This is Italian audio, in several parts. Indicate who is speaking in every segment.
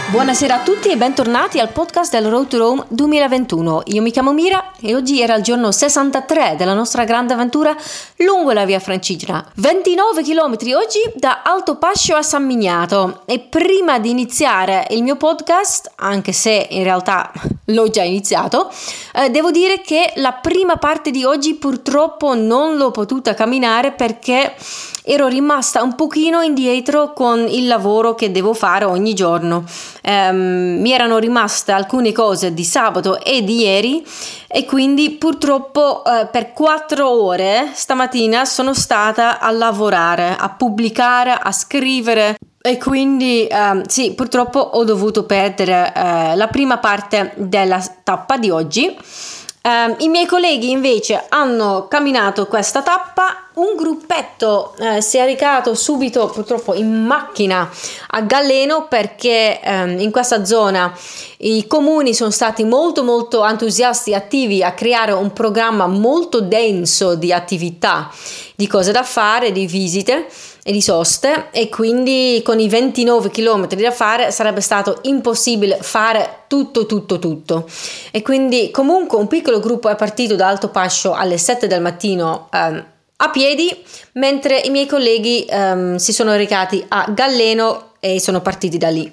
Speaker 1: Buonasera a tutti e bentornati al podcast del Road to Rome 2021. Io mi chiamo Mira e oggi era il giorno 63 della nostra grande avventura lungo la via Francigena. 29 chilometri oggi da Alto Pascio a San Miniato. E prima di iniziare il mio podcast, anche se in realtà l'ho già iniziato, devo dire che la prima parte di oggi purtroppo non l'ho potuta camminare perché ero rimasta un pochino indietro con il lavoro che devo fare ogni giorno. Mi erano rimaste alcune cose di sabato e di ieri e quindi purtroppo per 4 ore stamattina sono stata a lavorare, a pubblicare, a scrivere. E quindi sì, purtroppo ho dovuto perdere la prima parte della tappa di oggi. I miei colleghi invece hanno camminato questa tappa. Un gruppetto si è recato subito purtroppo in macchina a Galleno perché in questa zona i comuni sono stati molto entusiasti e attivi a creare un programma molto denso di attività, di cose da fare, di visite e di soste, e quindi con i 29 chilometri da fare sarebbe stato impossibile fare tutto. E quindi comunque un piccolo gruppo è partito da Alto Pascio alle 7 del mattino a piedi, mentre i miei colleghi si sono recati a Galleno e sono partiti da lì.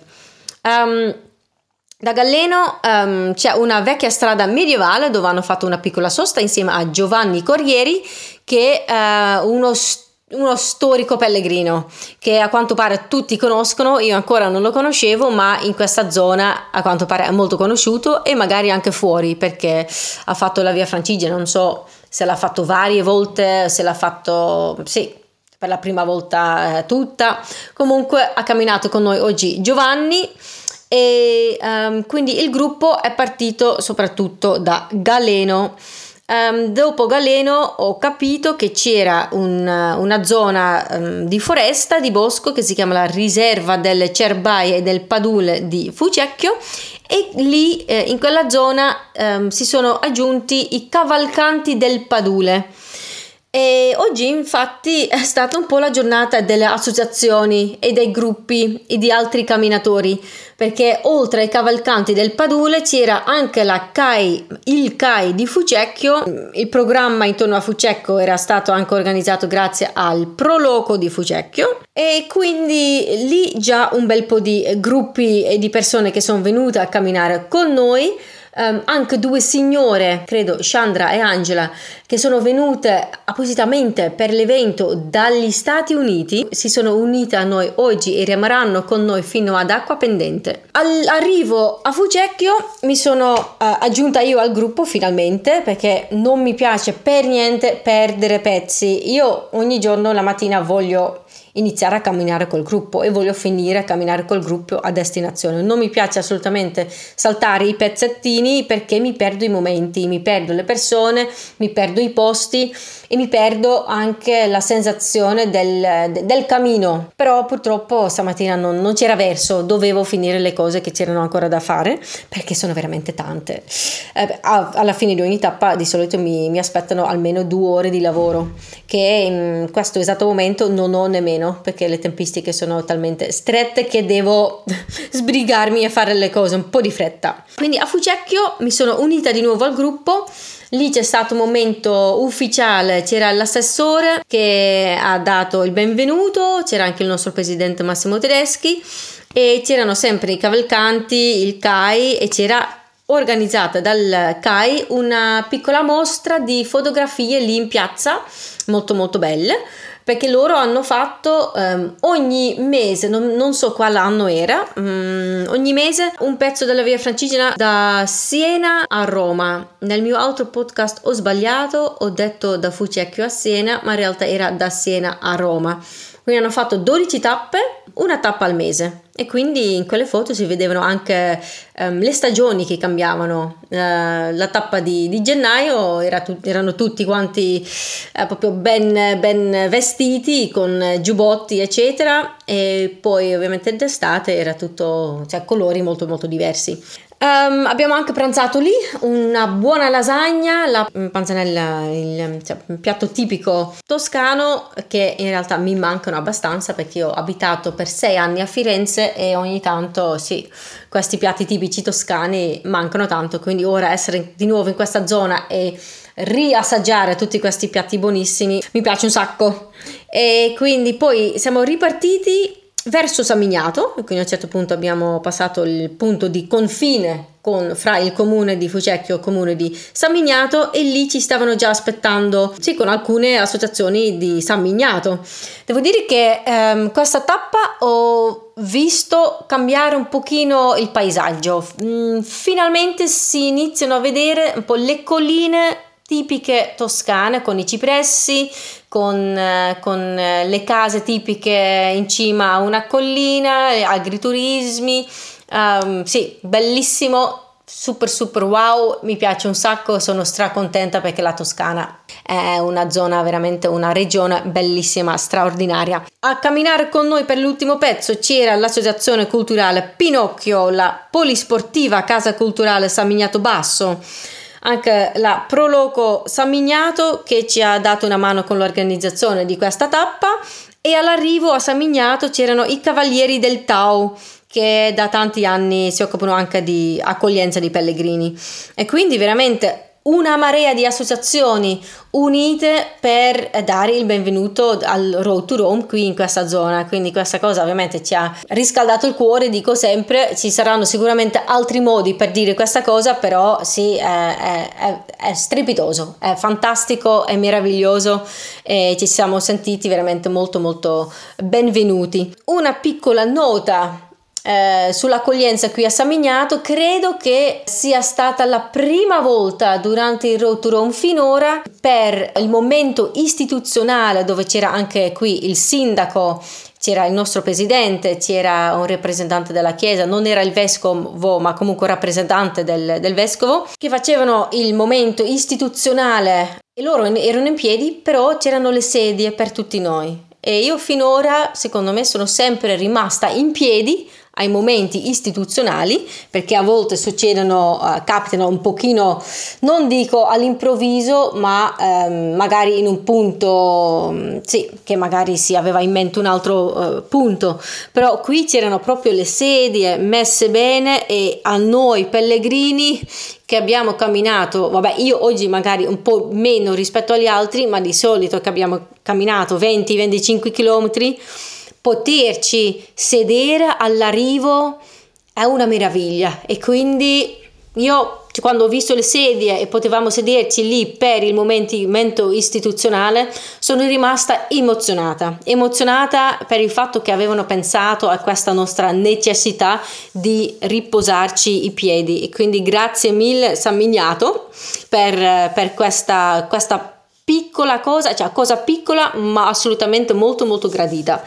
Speaker 1: Da Galleno c'è una vecchia strada medievale dove hanno fatto una piccola sosta insieme a Giovanni Corrieri, che è uno storico pellegrino che a quanto pare tutti conoscono. Io ancora non lo conoscevo, ma in questa zona a quanto pare è molto conosciuto, e magari anche fuori perché ha fatto la via Francigena. Non so se l'ha fatto varie volte, se l'ha fatto per la prima volta tutta. Comunque ha camminato con noi oggi Giovanni e quindi il gruppo è partito soprattutto da Galeno. Dopo Galeno ho capito che c'era una zona di foresta, di bosco, che si chiama la riserva delle Cerbaie e del Padule di Fucecchio, e lì in quella zona si sono aggiunti i cavalcanti del Padule. E oggi infatti è stata un po' la giornata delle associazioni e dei gruppi e di altri camminatori, perché oltre ai cavalcanti del Padule c'era anche il CAI di Fucecchio. Il programma intorno a Fucecchio era stato anche organizzato grazie al Proloco di Fucecchio, e quindi lì già un bel po' di gruppi e di persone che sono venute a camminare con noi. Anche 2 signore, credo Chandra e Angela, che sono venute appositamente per l'evento dagli Stati Uniti, si sono unite a noi oggi e rimarranno con noi fino ad Acqua Pendente. All'arrivo a Fucecchio mi sono aggiunta io al gruppo finalmente, perché non mi piace per niente perdere pezzi. Io ogni giorno la mattina voglio iniziare a camminare col gruppo e voglio finire a camminare col gruppo a destinazione. Non mi piace assolutamente saltare i pezzettini, perché mi perdo i momenti, mi perdo le persone, mi perdo i posti e mi perdo anche la sensazione del cammino. Però purtroppo stamattina non c'era verso, dovevo finire le cose che c'erano ancora da fare, perché sono veramente tante. Alla fine di ogni tappa di solito mi aspettano almeno 2 ore di lavoro, che in questo esatto momento non ho nemmeno, perché le tempistiche sono talmente strette che devo sbrigarmi a fare le cose un po' di fretta. Quindi a Fucecchio mi sono unita di nuovo al gruppo. Lì c'è stato un momento ufficiale, c'era l'assessore che ha dato il benvenuto, c'era anche il nostro presidente Massimo Tedeschi, e c'erano sempre i cavalcanti, il CAI, e c'era organizzata dal CAI una piccola mostra di fotografie lì in piazza, molto belle, perché loro hanno fatto ogni mese, non so quale anno era, ogni mese un pezzo della via Francigena da Siena a Roma. Nel mio altro podcast ho sbagliato, ho detto da Fucecchio a Siena, ma in realtà era da Siena a Roma. Quindi hanno fatto 12 tappe, una tappa al mese, e quindi in quelle foto si vedevano anche le stagioni che cambiavano. La tappa di gennaio erano tutti quanti proprio ben vestiti, con giubbotti eccetera, e poi ovviamente d'estate era tutto, colori molto diversi. Abbiamo anche pranzato lì, una buona lasagna, la panzanella, un piatto tipico toscano che in realtà mi mancano abbastanza perché io ho abitato per 6 anni a Firenze e ogni tanto sì, questi piatti tipici toscani mancano tanto, quindi ora essere di nuovo in questa zona e riassaggiare tutti questi piatti buonissimi mi piace un sacco. E quindi poi siamo ripartiti verso San Miniato, quindi a un certo punto abbiamo passato il punto di confine fra il comune di Fucecchio e il comune di San Miniato e lì ci stavano già aspettando, sì, con alcune associazioni di San Miniato. Devo dire che questa tappa ho visto cambiare un pochino il paesaggio. Finalmente si iniziano a vedere un po' le colline tipiche toscane con i cipressi, con le case tipiche in cima a una collina, agriturismi, sì, bellissimo, super wow, mi piace un sacco, sono stracontenta perché la Toscana è una zona, veramente una regione bellissima, straordinaria. A camminare con noi per l'ultimo pezzo c'era l'associazione culturale Pinocchio, la polisportiva Casa Culturale San Miniato Basso, anche la Proloco San Miniato che ci ha dato una mano con l'organizzazione di questa tappa, e all'arrivo a San Miniato c'erano i Cavalieri del Tau che da tanti anni si occupano anche di accoglienza di pellegrini, e quindi veramente una marea di associazioni unite per dare il benvenuto al Road to Rome qui in questa zona. Quindi questa cosa ovviamente ci ha riscaldato il cuore, dico sempre, ci saranno sicuramente altri modi per dire questa cosa, però sì, è strepitoso, è fantastico, è meraviglioso e ci siamo sentiti veramente molto benvenuti. Una piccola nota sull'accoglienza qui a San Miniato: credo che sia stata la prima volta durante il Road to Rome finora, per il momento istituzionale, dove c'era anche qui il sindaco, c'era il nostro presidente, c'era un rappresentante della chiesa, non era il vescovo ma comunque rappresentante del vescovo, che facevano il momento istituzionale e loro erano in piedi, però c'erano le sedie per tutti noi, e io finora, secondo me, sono sempre rimasta in piedi ai momenti istituzionali, perché a volte capitano un pochino, non dico all'improvviso, ma magari in un punto, sì, che magari si aveva in mente un altro punto, però qui c'erano proprio le sedie messe bene, e a noi pellegrini che abbiamo camminato, vabbè, io oggi magari un po' meno rispetto agli altri, ma di solito che abbiamo camminato 20-25 chilometri, poterci sedere all'arrivo è una meraviglia. E quindi io, quando ho visto le sedie e potevamo sederci lì per il momento istituzionale, sono rimasta emozionata per il fatto che avevano pensato a questa nostra necessità di riposarci i piedi, e quindi grazie mille San Miniato per questa piccola cosa, cioè cosa piccola ma assolutamente molto gradita.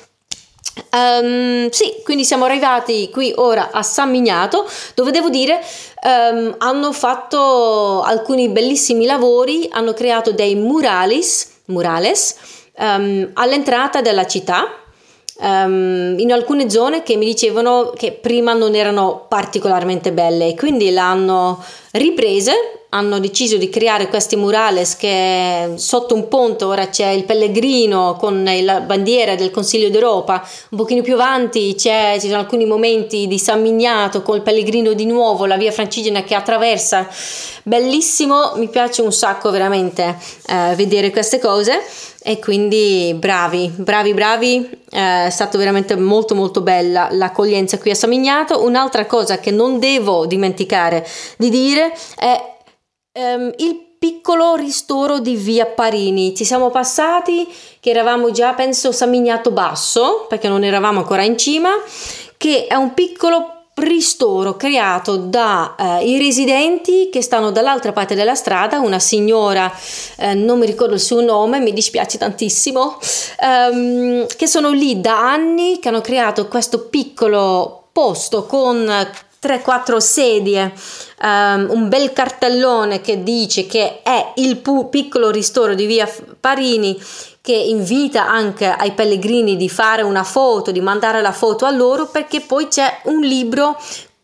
Speaker 1: Sì, quindi siamo arrivati qui ora a San Miniato, dove devo dire hanno fatto alcuni bellissimi lavori, hanno creato dei murales all'entrata della città, in alcune zone che mi dicevano che prima non erano particolarmente belle, e quindi l'hanno riprese. Hanno deciso di creare questi murales che sotto un ponte ora c'è il pellegrino con la bandiera del Consiglio d'Europa, un pochino più avanti ci sono alcuni momenti di San Miniato con il pellegrino di nuovo, la via Francigena che attraversa. Bellissimo, mi piace un sacco veramente vedere queste cose, e quindi bravi, è stato veramente molto bella l'accoglienza qui a San Miniato. Un'altra cosa che non devo dimenticare di dire è il piccolo ristoro di via Parini. Ci siamo passati che eravamo già, penso, San Miniato Basso, perché non eravamo ancora in cima, che è un piccolo ristoro creato dai residenti che stanno dall'altra parte della strada, una signora, non mi ricordo il suo nome, mi dispiace tantissimo, che sono lì da anni, che hanno creato questo piccolo posto con 3-4 sedie, un bel cartellone che dice che è il piccolo ristoro di via Parini, che invita anche ai pellegrini di fare una foto, di mandare la foto a loro, perché poi c'è un libro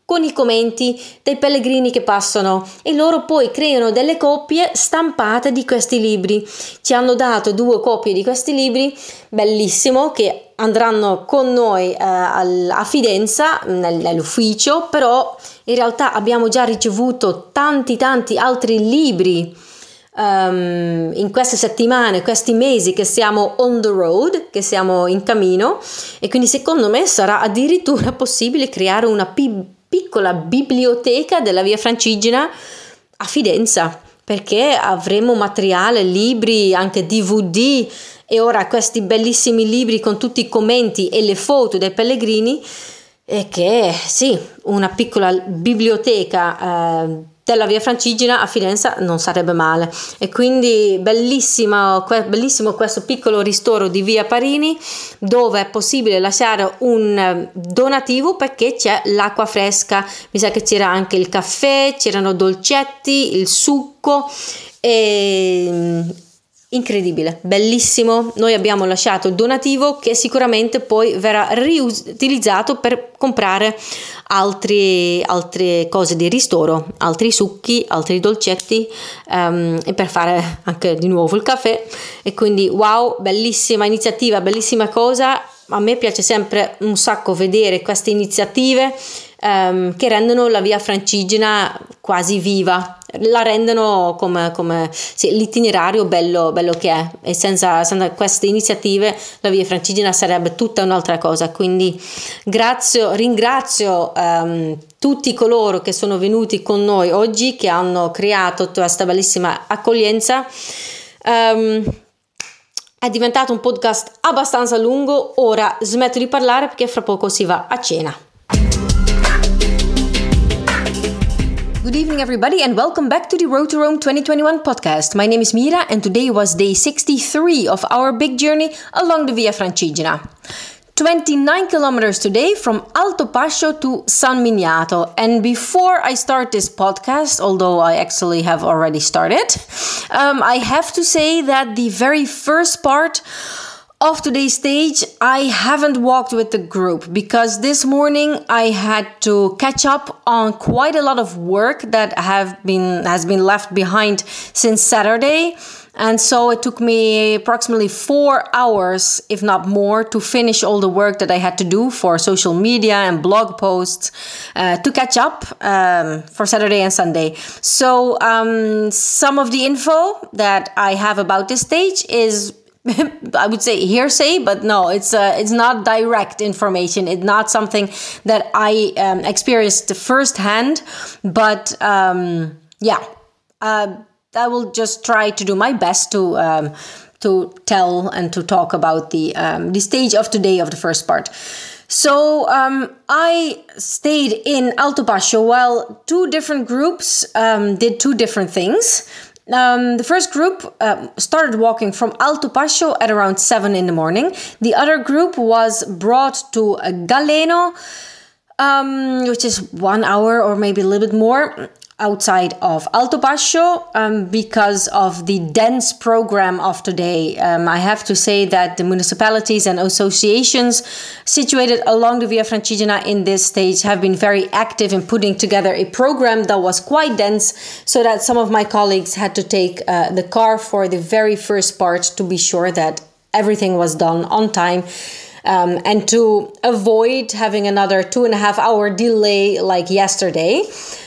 Speaker 1: con i commenti dei pellegrini che passano, e loro poi creano delle copie stampate di questi libri. Ci hanno dato 2 copie di questi libri, bellissimo, che andranno con noi a Fidenza nell'ufficio, però in realtà abbiamo già ricevuto tanti altri libri in queste settimane, questi mesi che siamo on the road, che siamo in cammino, e quindi secondo me sarà addirittura possibile creare una piccola biblioteca della Via Francigena a Fidenza, perché avremo materiale, libri, anche DVD, e ora questi bellissimi libri con tutti i commenti e le foto dei pellegrini, e che sì, una piccola biblioteca della Via Francigena a Firenze non sarebbe male. E quindi bellissimo questo piccolo ristoro di Via Parini, dove è possibile lasciare un donativo perché c'è l'acqua fresca, mi sa che c'era anche il caffè, c'erano dolcetti, il succo, e incredibile, bellissimo. Noi abbiamo lasciato il donativo che sicuramente poi verrà riutilizzato per comprare altre cose di ristoro, altri succhi, altri dolcetti, e per fare anche di nuovo il caffè. E quindi wow, bellissima iniziativa, bellissima cosa. A me piace sempre un sacco vedere queste iniziative che rendono la Via Francigena quasi viva, la rendono come sì, l'itinerario bello che è, e senza queste iniziative la Via Francigena sarebbe tutta un'altra cosa. Quindi ringrazio tutti coloro che sono venuti con noi oggi, che hanno creato questa bellissima accoglienza. È diventato un podcast abbastanza lungo, ora smetto di parlare perché fra poco si va a cena. Good evening, everybody, and welcome back to the Road to Rome 2021 podcast. My name is Mira, and today was day 63 of our big journey along the Via Francigena. 29 kilometers today from Alto Pascio to San Miniato. And before I start this podcast, although I actually have already started, I have to say that the very first part of today's stage, I haven't walked with the group because this morning I had to catch up on quite a lot of work that has been left behind since Saturday. And so it took me approximately 4 hours, if not more, to finish all the work that I had to do for social media and blog posts to catch up for Saturday and Sunday. So some of the info that I have about this stage is, I would say, hearsay, but no, it's not direct information. It's not something that I experienced firsthand, but I will just try to do my best to tell and to talk about the stage of today of the first part. So I stayed in Alto Pascio while 2 different groups did 2 different things. The first group started walking from Alto Pascio at around 7 in the morning. The other group was brought to Galeno, which is 1 hour or maybe a little bit more outside of Alto Pascio, because of the dense program of today. I have to say that the municipalities and associations situated along the Via Francigena in this stage have been very active in putting together a program that was quite dense, so that some of my colleagues had to take the car for the very first part to be sure that everything was done on time. And to avoid having another 2.5 hour delay like yesterday.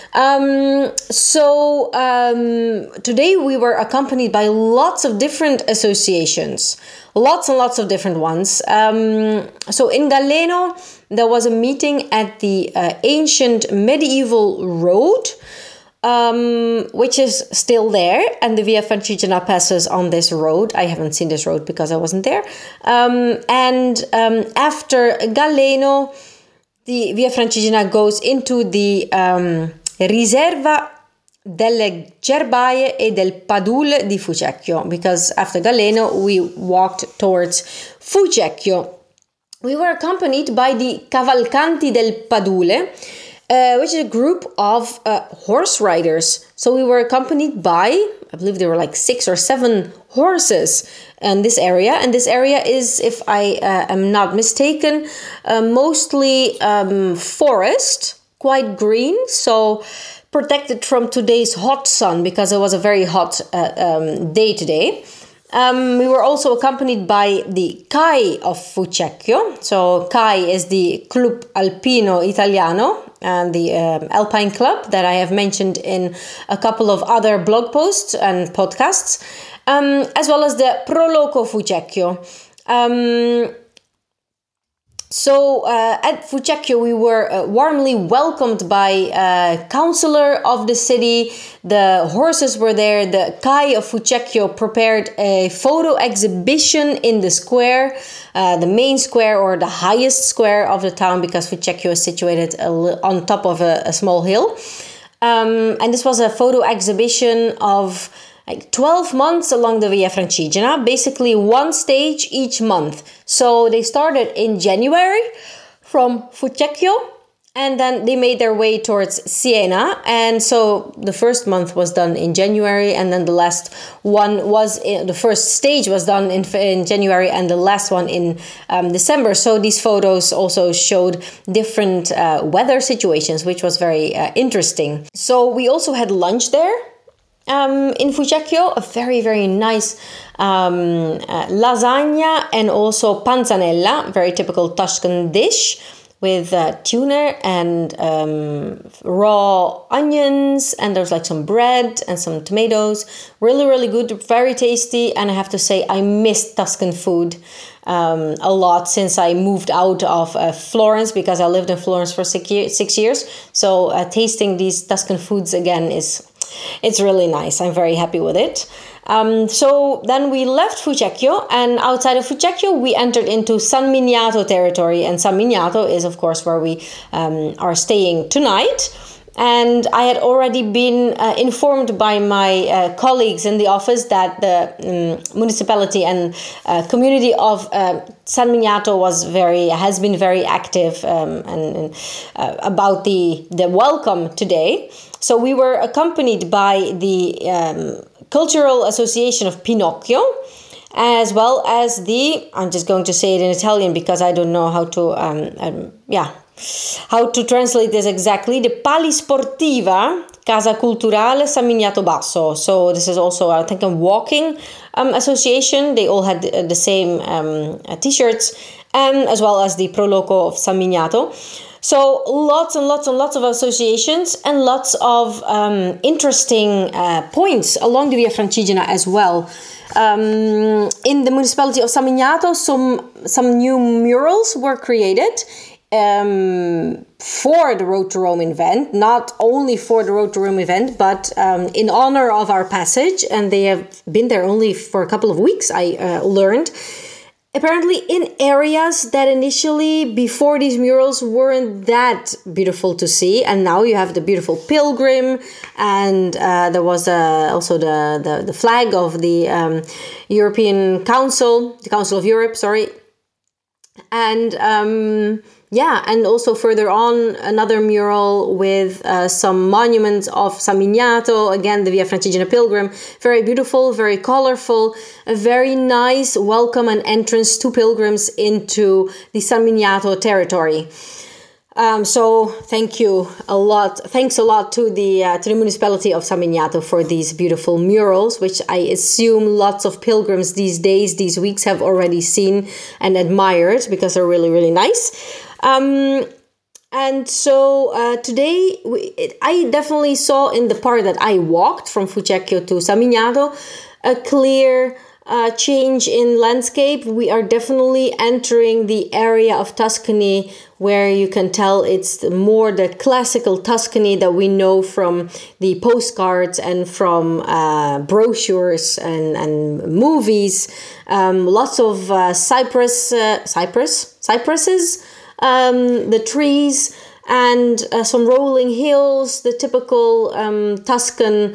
Speaker 1: Today we were accompanied by lots of different associations, lots and lots of different ones. So in Galeno, there was a meeting at the ancient medieval road, which is still there, and the Via Francigena passes on this road. I haven't seen this road because I wasn't there. After Galeno, the Via Francigena goes into the Riserva delle Gerbaie e del Padule di Fucecchio, because after Galeno we walked towards Fucecchio. We were accompanied by the Cavalcanti del Padule, which is a group of horse riders. So we were accompanied by, I believe there were like 6 or 7 horses in this area. And this area is, if I am not mistaken, mostly forest. quite green, so protected from today's hot sun because it was a very hot day today. We were also accompanied by the CAI of Fucecchio. So CAI is the Club Alpino Italiano, and the Alpine Club that I have mentioned in a couple of other blog posts and podcasts, as well as the Proloco Fucecchio. So at Fucecchio, we were warmly welcomed by councillor of the city. The horses were there. The CAI of Fucecchio prepared a photo exhibition in the square, the main square or the highest square of the town, because Fucecchio is situated on top of a small hill. And this was a photo exhibition of 12 months along the Via Francigena, basically one stage each month. So they started in January from Fucecchio, and then they made their way towards Siena. And so the first month was done in January, and then the last one was the first stage was done in January, and the last one in December. So these photos also showed different weather situations, which was very interesting. So we also had lunch there. In Fucecchio, a very, very nice lasagna and also panzanella, very typical Tuscan dish with tuna and raw onions, and there's like some bread and some tomatoes. Really, really good, very tasty, and I have to say I missed Tuscan food a lot since I moved out of Florence, because I lived in Florence for 6 years. So tasting these Tuscan foods again it's really nice. I'm very happy with it. So then we left Fucecchio, and outside of Fucecchio we entered into San Miniato territory, and San Miniato is of course where we are staying tonight. And I had already been informed by my colleagues in the office that the municipality and community of San Miniato has been very active and about the welcome today. So we were accompanied by the Cultural Association of Pinocchio, as well as I'm just going to say it in Italian because I don't know how to translate this exactly, the Palisportiva Casa Culturale San Miniato Basso. So this is also, I think, a walking association. They all had the same t-shirts, as well as the Proloco of San Miniato. So lots and lots and lots of associations and lots of interesting points along the Via Francigena as well. In the municipality of San Miniato, some new murals were created for the Road to Rome event, not only for the Road to Rome event, but in honor of our passage, and they have been there only for a couple of weeks, I learned. Apparently in areas that initially, before these murals, weren't that beautiful to see, and now you have the beautiful pilgrim, and there was also the flag of the European Council, the Council of Europe, sorry, and and also further on, another mural with some monuments of San Miniato, again the Via Francigena Pilgrim, very beautiful, very colorful, a very nice welcome and entrance to pilgrims into the San Miniato territory. So thanks a lot to the municipality of San Miniato for these beautiful murals, which I assume lots of pilgrims these weeks have already seen and admired because they're really, really nice. And so today I definitely saw in the part that I walked from Fucecchio to San Miniato a clear change in landscape. We are definitely entering the area of Tuscany where you can tell it's more the classical Tuscany that we know from the postcards and from brochures and movies. Lots of cypresses, the trees, and some rolling hills, the typical Tuscan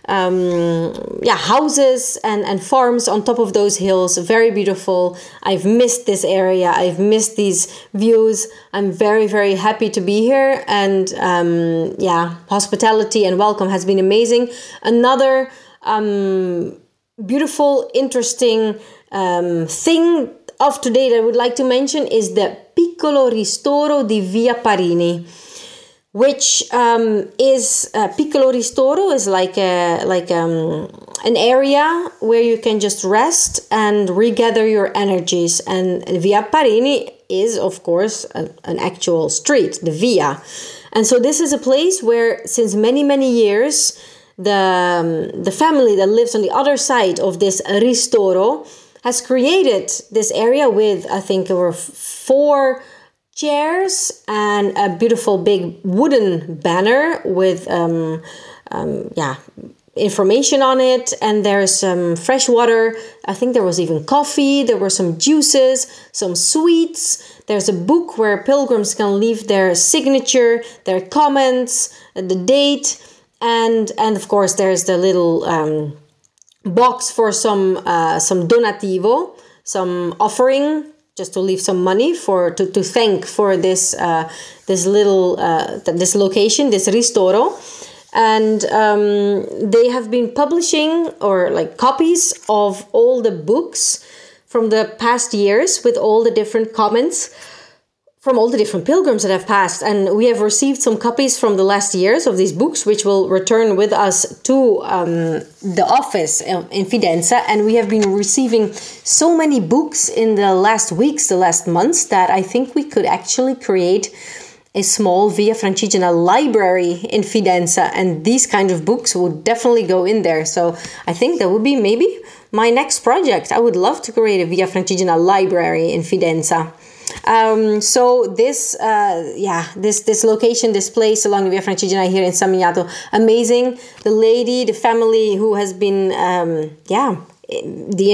Speaker 1: houses and farms on top of those hills. Very beautiful. I've missed this area. I've missed these views. I'm very, very happy to be here. And hospitality and welcome has been amazing. Another beautiful, interesting thing of today that I would like to mention is the Piccolo Ristoro di Via Parini. which is Piccolo Ristoro is like an area where you can just rest and regather your energies. And Via Parini is, of course, an actual street, the Via. And so this is a place where, since many, many years, the family that lives on the other side of this Ristoro has created this area with, I think there were 4 chairs and a beautiful big wooden banner with information on it, and there's some fresh water. I think there was even coffee, there were some juices, some sweets. There's a book where pilgrims can leave their signature, their comments, the date, and of course there's the little box for some donativo, some offering, just to leave some money to thank for this little this location, this Ristoro. And they have been publishing copies of all the books from the past years with all the different comments from all the different pilgrims that have passed. And we have received some copies from the last years of these books, which will return with us to the office in Fidenza. And we have been receiving so many books in the last weeks, the last months, that I think we could actually create a small Via Francigena library in Fidenza, and these kind of books would definitely go in there. So I think that would be maybe my next project. I would love to create a Via Francigena library in Fidenza. So this location, this place along the Via Francigena here in San Miniato, amazing. The lady, the family who has been, the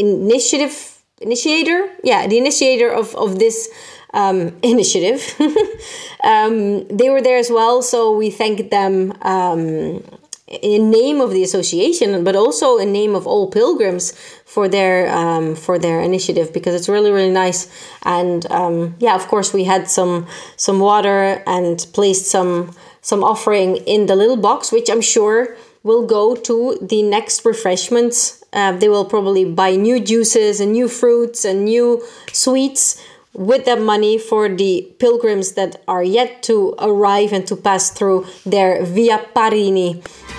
Speaker 1: initiator of this initiative. They were there as well, so we thank them in name of the association, but also in name of all pilgrims for their initiative, because it's really, really nice. And of course we had some water and placed some offering in the little box, which I'm sure will go to the next refreshments. They will probably buy new juices and new fruits and new sweets with that money for the pilgrims that are yet to arrive and to pass through their Via Parini